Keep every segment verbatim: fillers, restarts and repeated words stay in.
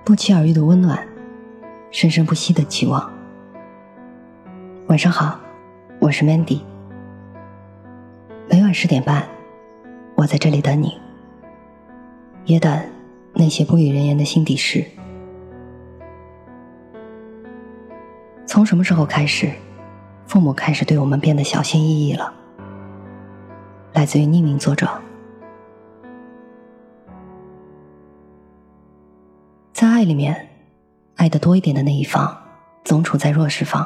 不期而遇的温暖，生生不息的期望。晚上好，我是 Mandy。 每晚十点半，我在这里等你，也等那些不语人言的心底事。从什么时候开始，父母开始对我们变得小心翼翼了？来自于匿名作者。在爱里面，爱得多一点的那一方总处在弱势方。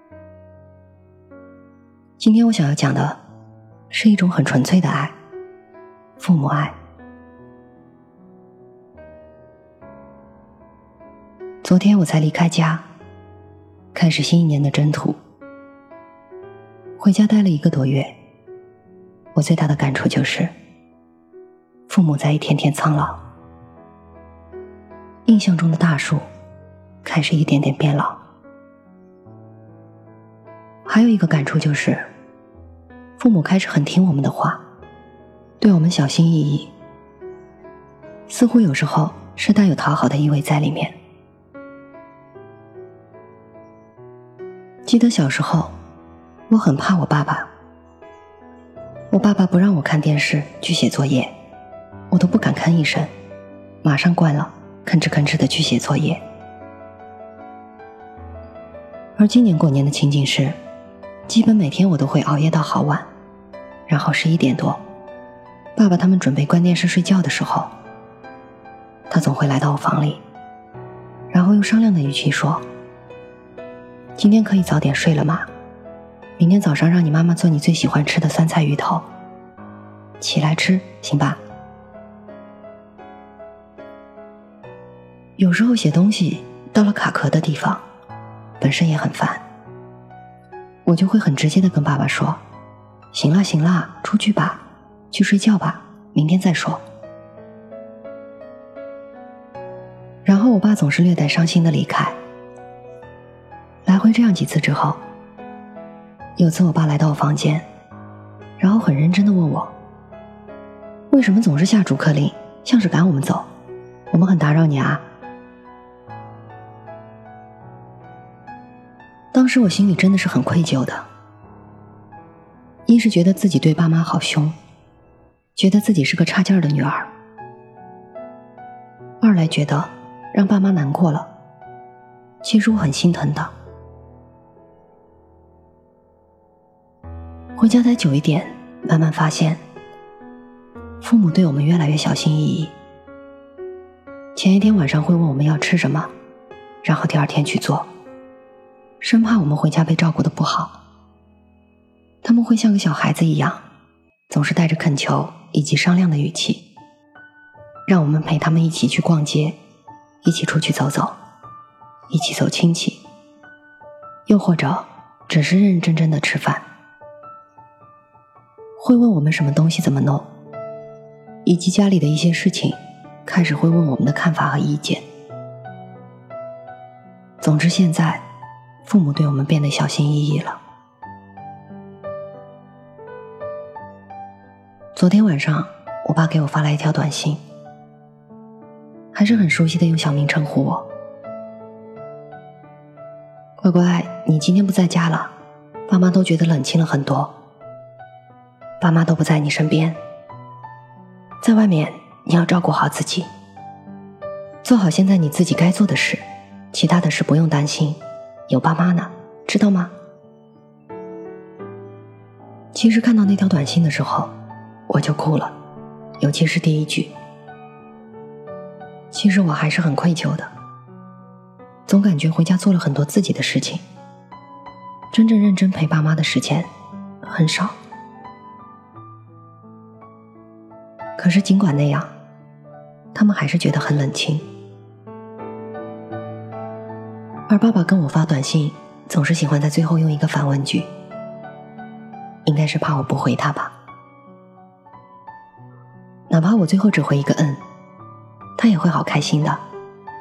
今天我想要讲的是一种很纯粹的爱，父母爱。昨天我才离开家，开始新一年的征途。回家待了一个多月，我最大的感触就是父母在一天天苍老，印象中的大树开始一点点变老。还有一个感触就是，父母开始很听我们的话，对我们小心翼翼，似乎有时候是带有讨好的意味在里面。记得小时候，我很怕我爸爸，我爸爸不让我看电视去写作业，我都不敢吭一声，马上关了，吭哧吭哧地去写作业。而今年过年的情景是，基本每天我都会熬夜到好晚，然后十一点多，爸爸他们准备关电视睡觉的时候，他总会来到我房里，然后用商量的语气说：今天可以早点睡了吗？明天早上让你妈妈做你最喜欢吃的酸菜鱼头，起来吃，行吧？有时候写东西到了卡壳的地方，本身也很烦，我就会很直接地跟爸爸说：行啦行啦，出去吧，去睡觉吧，明天再说。然后我爸总是略带伤心地离开。来回这样几次之后，有次我爸来到我房间，然后很认真地问我，为什么总是下逐客令，像是赶我们走，我们很打扰你啊？当时我心里真的是很愧疚的，一是觉得自己对爸妈好凶，觉得自己是个差劲儿的女儿，二来觉得让爸妈难过了，其实我很心疼的。回家待久一点，慢慢发现父母对我们越来越小心翼翼。前一天晚上会问我们要吃什么，然后第二天去做，生怕我们回家被照顾得不好。他们会像个小孩子一样，总是带着恳求以及商量的语气，让我们陪他们一起去逛街，一起出去走走，一起走亲戚，又或者只是认认真真的吃饭。会问我们什么东西怎么弄，以及家里的一些事情，开始会问我们的看法和意见。总之现在父母对我们变得小心翼翼了。昨天晚上我爸给我发来一条短信，还是很熟悉的用小名称呼我：乖乖，你今天不在家了，爸妈都觉得冷清了很多，爸妈都不在你身边，在外面你要照顾好自己，做好现在你自己该做的事，其他的事不用担心，有爸妈呢，知道吗？其实看到那条短信的时候我就哭了，尤其是第一句。其实我还是很愧疚的，总感觉回家做了很多自己的事情，真正认真陪爸妈的时间很少。可是尽管那样，他们还是觉得很冷清。而爸爸跟我发短信总是喜欢在最后用一个反问句，应该是怕我不回他吧。哪怕我最后只回一个嗯，他也会好开心的。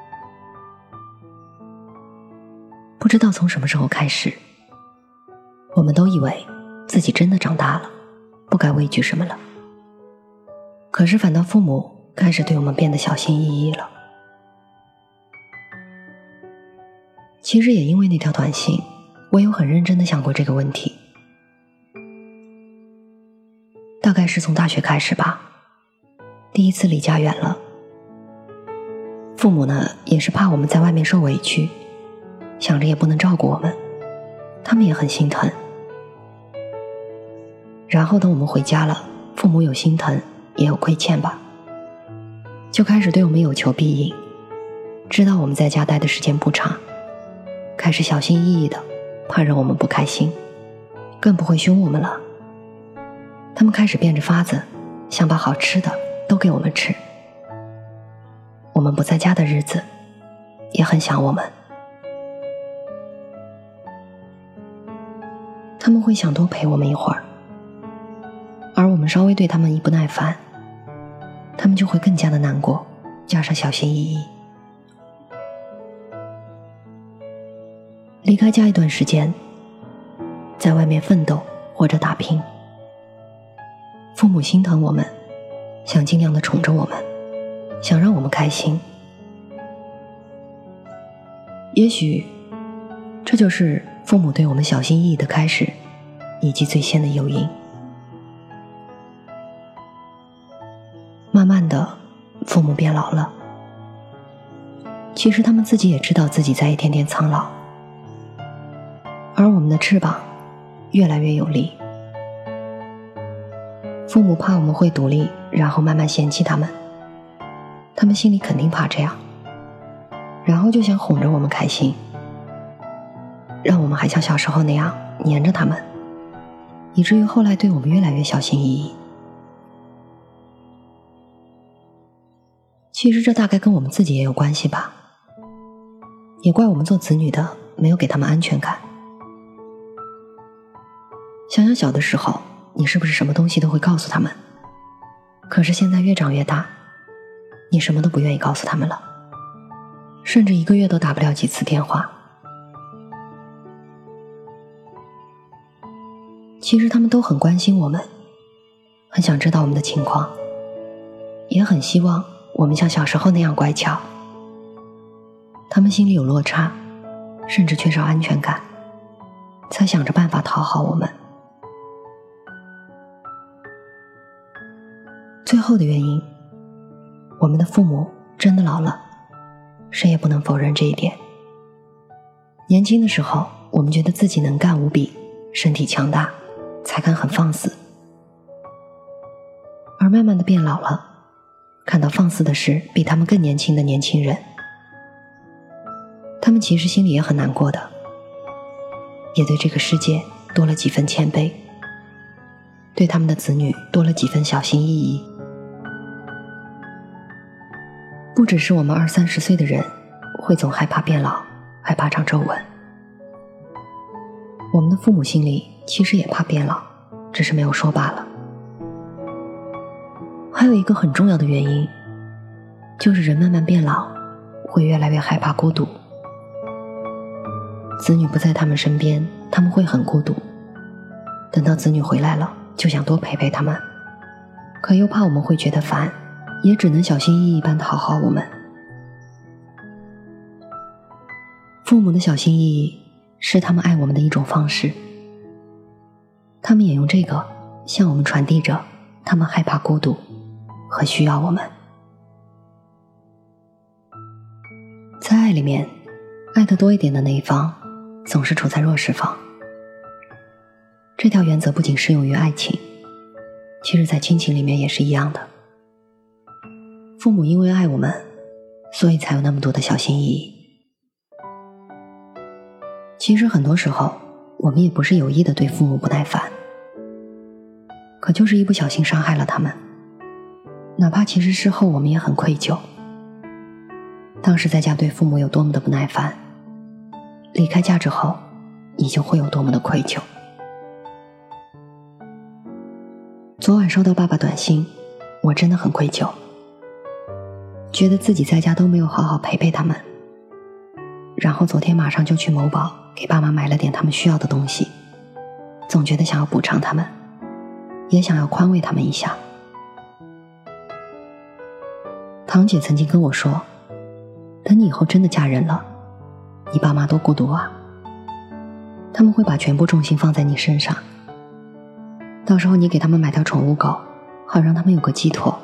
不知道从什么时候开始，我们都以为自己真的长大了，不该畏惧什么了。可是反倒父母开始对我们变得小心翼翼了。 其实也因为那条短信，我有很认真地想过这个问题。大概是从大学开始吧，第一次离家远了。父母呢，也是怕我们在外面受委屈，想着也不能照顾我们，他们也很心疼。然后等我们回家了，父母有心疼，也有亏欠吧，就开始对我们有求必应，知道我们在家待的时间不长，开始小心翼翼的，怕惹我们不开心，更不会凶我们了。他们开始变着法子，想把好吃的都给我们吃。我们不在家的日子，也很想我们。他们会想多陪我们一会儿，而我们稍微对他们一不耐烦，他们就会更加的难过，加上小心翼翼。离开家一段时间，在外面奋斗或者打拼，父母心疼我们，想尽量的宠着我们，想让我们开心。也许这就是父母对我们小心翼翼的开始，以及最先的诱因。慢慢的，父母变老了，其实他们自己也知道自己在一天天苍老，而我们的翅膀越来越有力。父母怕我们会独立，然后慢慢嫌弃他们，他们心里肯定怕这样，然后就想哄着我们开心，让我们还像小时候那样黏着他们，以至于后来对我们越来越小心翼翼。其实这大概跟我们自己也有关系吧，也怪我们做子女的没有给他们安全感。想想小的时候，你是不是什么东西都会告诉他们？可是现在越长越大，你什么都不愿意告诉他们了，甚至一个月都打不了几次电话。其实他们都很关心我们，很想知道我们的情况，也很希望我们像小时候那样乖巧。他们心里有落差，甚至缺少安全感，才想着办法讨好我们。最后的原因，我们的父母真的老了，谁也不能否认这一点。年轻的时候，我们觉得自己能干无比，身体强大，才敢很放肆。而慢慢的变老了，看到放肆的是比他们更年轻的年轻人，他们其实心里也很难过的，也对这个世界多了几分谦卑，对他们的子女多了几分小心翼翼。不只是我们二三十岁的人会总害怕变老，害怕长皱纹，我们的父母心里其实也怕变老，只是没有说罢了。还有一个很重要的原因，就是人慢慢变老，会越来越害怕孤独。子女不在他们身边，他们会很孤独，等到子女回来了，就想多陪陪他们，可又怕我们会觉得烦，也只能小心翼翼般讨好我们。父母的小心翼翼是他们爱我们的一种方式，他们也用这个向我们传递着他们害怕孤独和需要我们。在爱里面，爱得多一点的那一方总是处在弱势方。这条原则不仅适用于爱情，其实在亲情里面也是一样的。父母因为爱我们，所以才有那么多的小心翼翼。其实很多时候，我们也不是有意的对父母不耐烦，可就是一不小心伤害了他们，哪怕其实事后我们也很愧疚。当时在家对父母有多么的不耐烦，离开家之后，你就会有多么的愧疚。昨晚收到爸爸短信，我真的很愧疚，觉得自己在家都没有好好陪陪他们，然后昨天马上就去某宝给爸妈买了点他们需要的东西，总觉得想要补偿他们，也想要宽慰他们一下。堂姐曾经跟我说，等你以后真的嫁人了， 你爸妈多孤独啊，他们会把全部重心放在你身上，到时候你给他们买条宠物狗，好让他们有个寄托。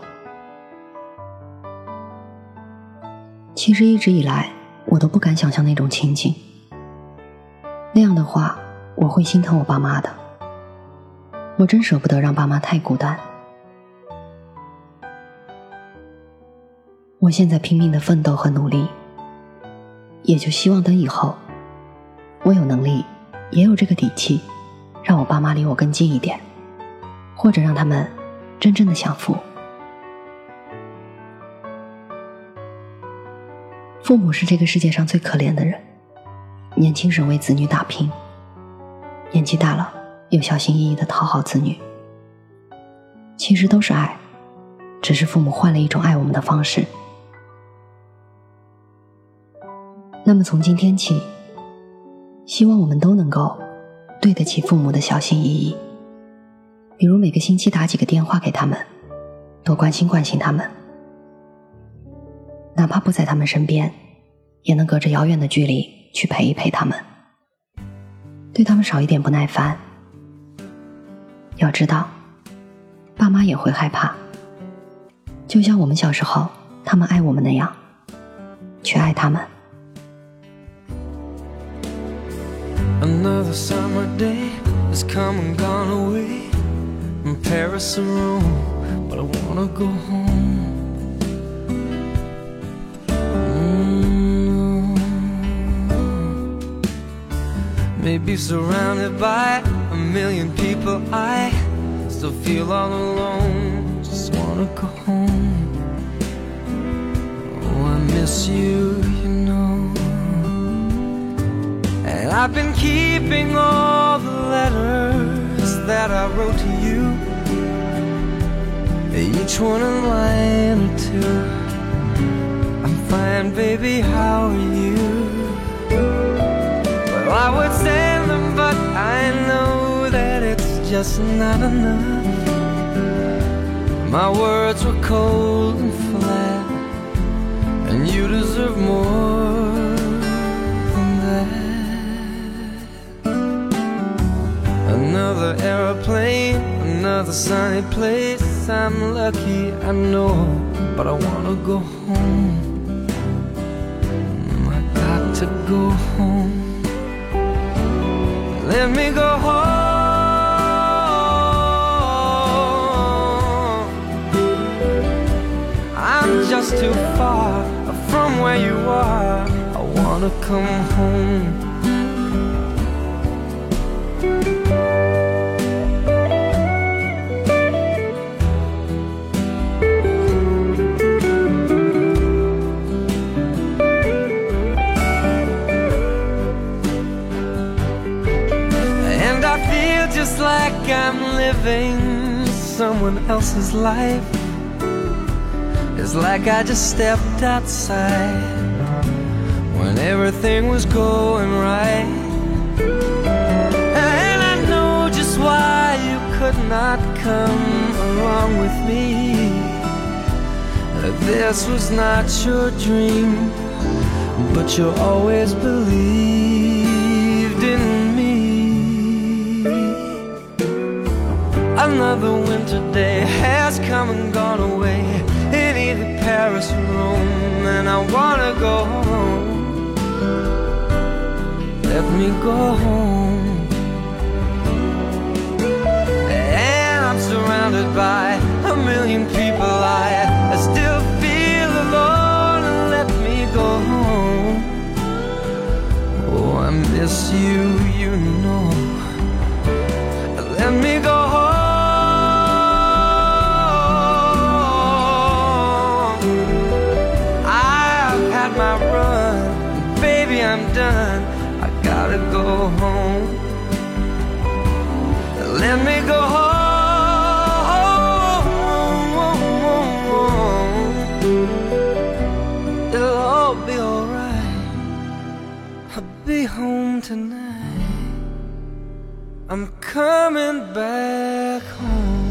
其实一直以来我都不敢想象那种情景，那样的话我会心疼我爸妈的，我真舍不得让爸妈太孤单。我现在拼命的奋斗和努力，也就希望等以后我有能力也有这个底气，让我爸妈离我更近一点，或者让他们真正的享福。父母是这个世界上最可怜的人，年轻时为子女打拼，年纪大了又小心翼翼地讨好子女，其实都是爱，只是父母换了一种爱我们的方式。那么从今天起，希望我们都能够对得起父母的小心翼翼，比如每个星期打几个电话给他们，多关心关心他们，哪怕不在他们身边，也能隔着遥远的距离去陪一陪他们，对他们少一点不耐烦。要知道，爸妈也会害怕，就像我们小时候他们爱我们那样，去爱他们。 Another summer day has come and gone away from Paris or Rome, but I wanna go home. Mm-hmm. Maybe surrounded by a million people, I still feel all alone. Just wanna go home. Oh, I miss you, you know. And I've been keeping all the letters that I wrote to you, each one a line or two. I'm fine, baby, how are you? Well, I would send them, but I know that it's just not enough. My words were cold and flat, and you deserve more than that. Another aeroplane, another sunny place. I'm lucky, I know, but I wanna go home. I got to go home. Let me go home. I'm just too far from where you are. I wanna come home. Just like I'm living someone else's life. It's like I just stepped outside when everything was going right. And I know just why you could not come along with me. This was not your dream, but you always believed in me. Another winter day has come and gone away in either Paris or Rome, and I wanna go home. Let me go home. And I'm surrounded by a million people. I, I still feel alone, and let me go home. Oh, I miss you, you know. Let me go home. My run, baby, I'm done. I gotta go home. Let me go home. It'll all be alright. I'll be home tonight. I'm coming back home.